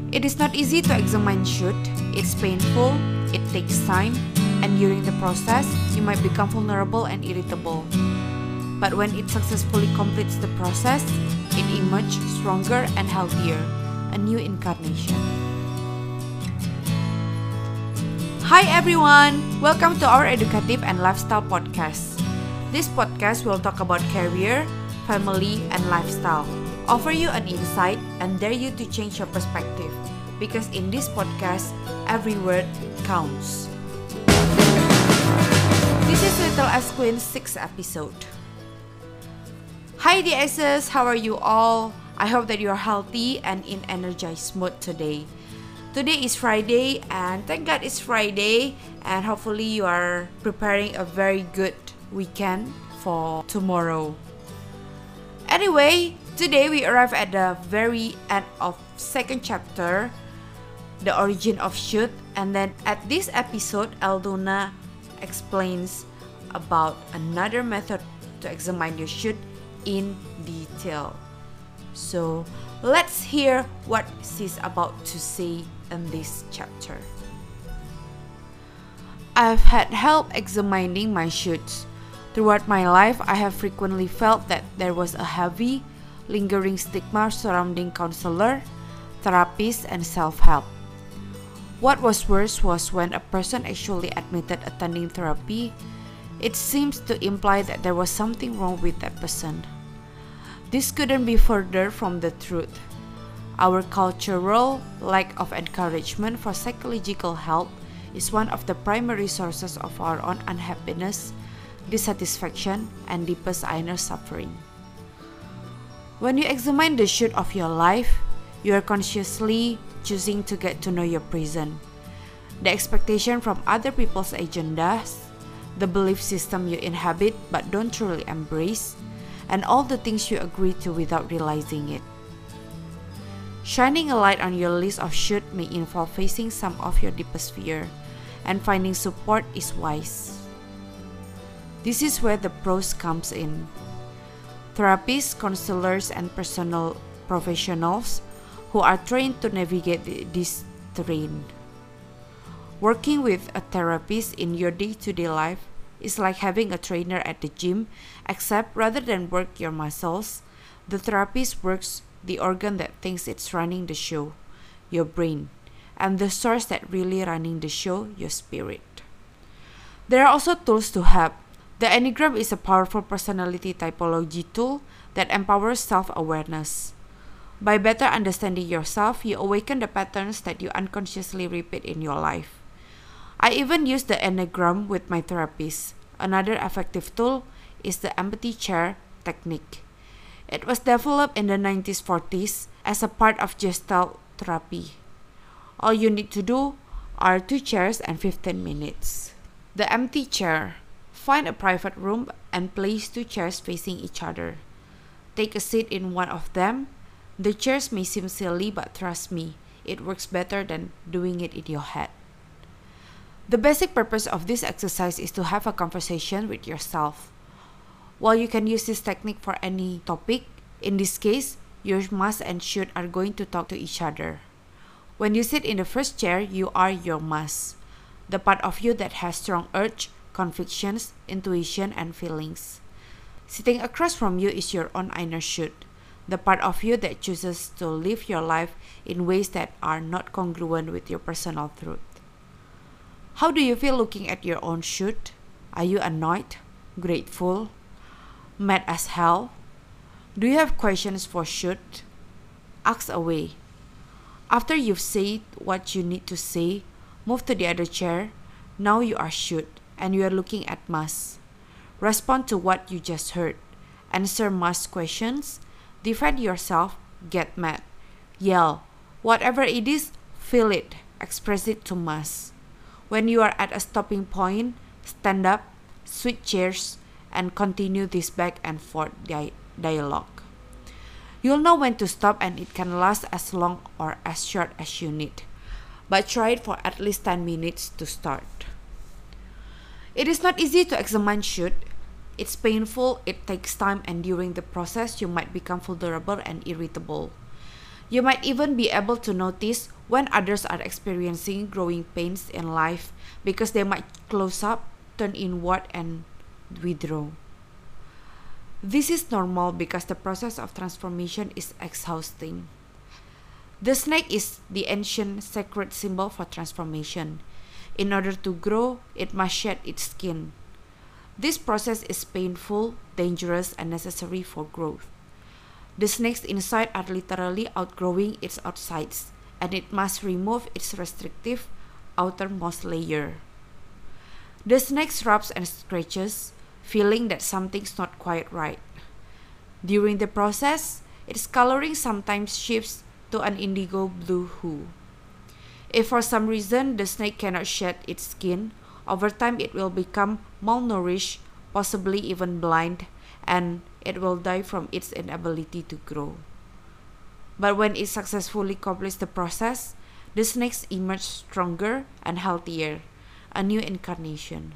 It is not easy to examine should. It's painful, it takes time, and during the process, you might become vulnerable and irritable. But when it successfully completes the process, it emerges stronger and healthier, a new incarnation. Hi everyone! Welcome to our educative and lifestyle podcast. This podcast will talk about career, family, and lifestyle. Offer you an insight and dare you to change your perspective. Because in this podcast, every word counts. This is Little S Queen's 6th episode. Hi DSs, how are you all? I hope that you are healthy and in energized mood today. Today is Friday and thank God it's Friday and hopefully you are preparing a very good weekend for tomorrow. Anyway, today we arrive at the very end of second chapter, the origin of should, and then at this episode, Aldona explains about another method to examine your should in detail. So let's hear what she's about to say in this chapter. I've had help examining my shoulds. Throughout my life, I have frequently felt that there was a heavy, lingering stigma surrounding counselor, therapists, and self-help. What was worse was when a person actually admitted attending therapy, it seems to imply that there was something wrong with that person. This couldn't be further from the truth. Our cultural lack of encouragement for psychological help is one of the primary sources of our own unhappiness, dissatisfaction, and deepest inner suffering. When you examine the should of your life, you are consciously choosing to get to know your present. The expectation from other people's agendas, the belief system you inhabit but don't truly embrace, and all the things you agree to without realizing it. Shining a light on your list of should may involve facing some of your deepest fear, and finding support is wise. This is where the pros comes in. Therapists, counselors, and personal professionals who are trained to navigate this terrain. Working with a therapist in your day-to-day life is like having a trainer at the gym, except rather than work your muscles, the therapist works the organ that thinks it's running the show, your brain, and the source that really running the show, your spirit. There are also tools to help. The Enneagram is a powerful personality typology tool that empowers self-awareness. By better understanding yourself, you awaken the patterns that you unconsciously repeat in your life. I even use the Enneagram with my therapist. Another effective tool is the empathy chair technique. It was developed in the 1940s as a part of Gestalt therapy. All you need to do are 2 chairs and 15 minutes. The empty chair. Find a private room and place 2 chairs facing each other. Take a seat in one of them. The chairs may seem silly, but trust me, it works better than doing it in your head. The basic purpose of this exercise is to have a conversation with yourself. While you can use this technique for any topic, in this case, your must and should are going to talk to each other. When you sit in the first chair, you are your must, the part of you that has strong urge, convictions, intuition, and feelings. Sitting across from you is your own inner should, the part of you that chooses to live your life in ways that are not congruent with your personal truth. How do you feel looking at your own should? Are you annoyed, grateful, mad as hell? Do you have questions for should? Ask away. After you've said what you need to say, move to the other chair. Now you are should, and you are looking at must. Respond to what you just heard. Answer must questions. Defend yourself. Get mad. Yell. Whatever it is, feel it. Express it to must. When you are at a stopping point, stand up, switch chairs, and continue this back and forth dialogue. You'll know when to stop, and it can last as long or as short as you need. But try it for at least 10 minutes to start. It is not easy to examine should. It's painful, it takes time, and during the process, you might become vulnerable and irritable. You might even be able to notice when others are experiencing growing pains in life because they might close up, turn inward, and withdraw. This is normal because the process of transformation is exhausting. The snake is the ancient sacred symbol for transformation. In order to grow, it must shed its skin. This process is painful, dangerous, and necessary for growth. The snake's inside are literally outgrowing its outsides, and it must remove its restrictive outermost layer. The snake rubs and scratches, feeling that something's not quite right. During the process, its coloring sometimes shifts to an indigo blue hue. If for some reason the snake cannot shed its skin, over time it will become malnourished, possibly even blind, and it will die from its inability to grow. But when it successfully completes the process, the snakes emerge stronger and healthier, a new incarnation.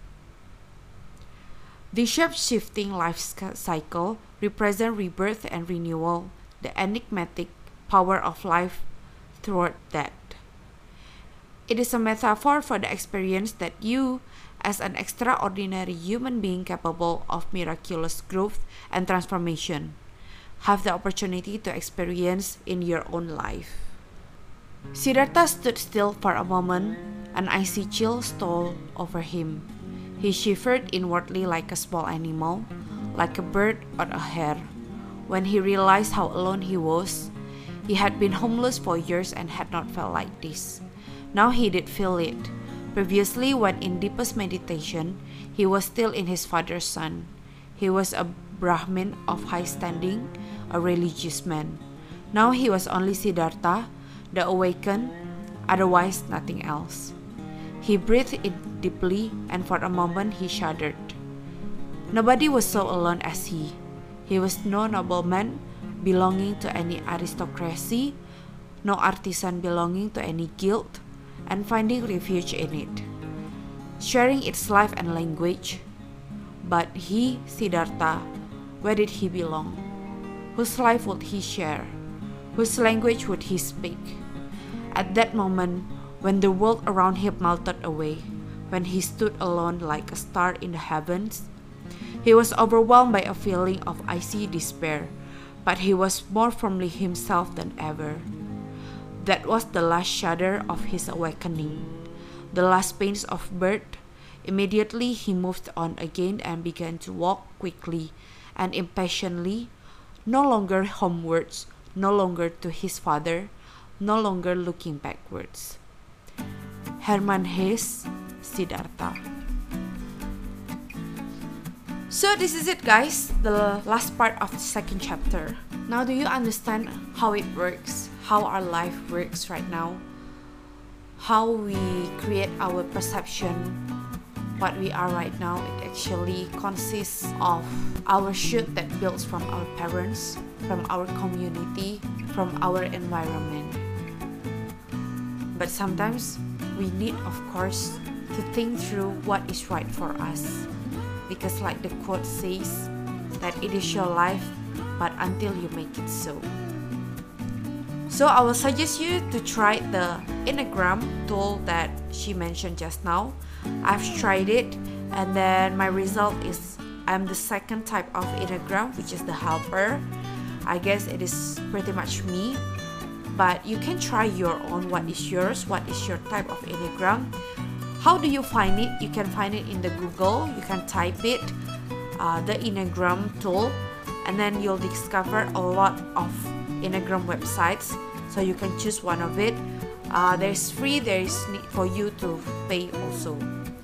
The shape-shifting life cycle represents rebirth and renewal, the enigmatic power of life throughout death. It is a metaphor for the experience that you, as an extraordinary human being capable of miraculous growth and transformation, have the opportunity to experience in your own life. Siddhartha stood still for a moment. An icy chill stole over him. He shivered inwardly like a small animal, like a bird or a hare. When he realized how alone he was, he had been homeless for years and had not felt like this. Now he did feel it. Previously, when in deepest meditation, he was still in his father's son. He was a Brahmin of high standing, a religious man. Now he was only Siddhartha, the awakened, otherwise nothing else. He breathed in deeply, and for a moment he shuddered. Nobody was so alone as he. He was no nobleman belonging to any aristocracy, no artisan belonging to any guild, and finding refuge in it, sharing its life and language. But he, Siddhartha, where did he belong? Whose life would he share? Whose language would he speak? At that moment, when the world around him melted away, when he stood alone like a star in the heavens, he was overwhelmed by a feeling of icy despair, but he was more firmly himself than ever. That was the last shudder of his awakening, the last pains of birth. Immediately he moved on again and began to walk quickly and impatiently, no longer homewards, no longer to his father, no longer looking backwards. Hermann Hesse, Siddhartha. So this is it, guys, the last part of the second chapter. Now do you understand how it works, how our life works right now, how we create our perception, what we are right now? It actually consists of our should that builds from our parents, from our community, from our environment. But sometimes we need, of course, to think through what is right for us, because like the quote says, that it is your life, but until you make it so. So I will suggest you to try the Enneagram tool that she mentioned just now. I've tried it, and then my result is I'm the second type of Enneagram, which is the helper. I guess it is pretty much me, but you can try your own. What is yours? What is your type of Enneagram? How do you find it? You can find it in the Google. You can type it, the Enneagram tool, and then you'll discover a lot of Enneagram websites, so you can choose one of it. There's free, there is need for you to pay also.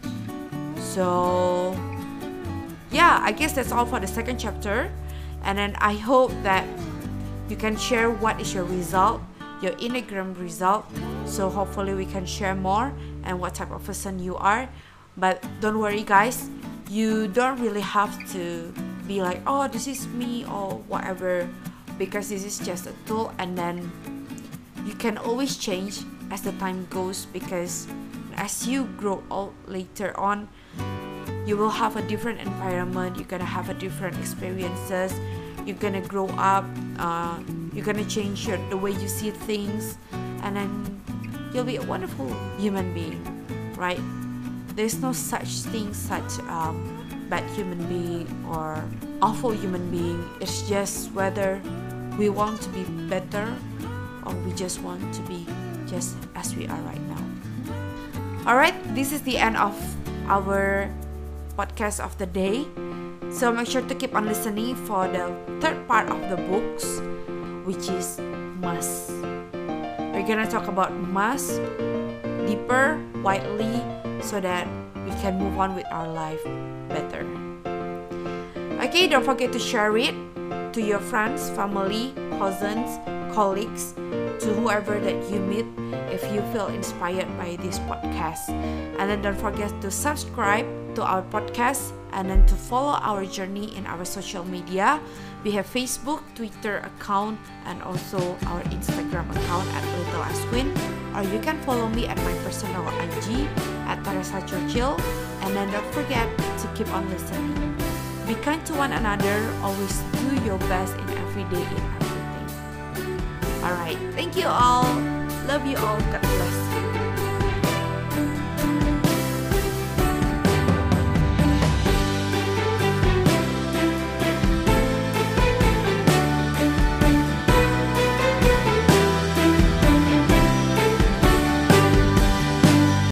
So yeah, I guess that's all for the second chapter, and then I hope that you can share what is your result, your Enneagram result, so hopefully we can share more and what type of person you are. But don't worry, guys, you don't really have to be like, oh, this is me or whatever, because this is just a tool, and then you can always change as the time goes, because as you grow old later on, you will have a different environment, you're gonna have a different experiences, you're gonna grow up, You're gonna change the way you see things, and then you'll be a wonderful human being, right? There's no such thing, such bad human being or awful human being. It's just whether we want to be better or we just want to be just as we are right now. Alright, this is the end of our podcast of the day. So make sure to keep on listening for the third part of the books, which is must. We're gonna talk about must deeper, widely, so that we can move on with our life better. Okay, don't forget to share it to your friends, family, cousins, colleagues, to whoever that you meet if you feel inspired by this podcast. And then don't forget to subscribe to our podcast and then to follow our journey in our social media. We have Facebook, Twitter account, and also our Instagram account at Little Asquin. Or you can follow me at my personal IG at Teresa Churchill. And then don't forget to keep on listening. Be kind to one another. Always do your best in every day in everything. Alright, thank you all. Love you all. God bless you.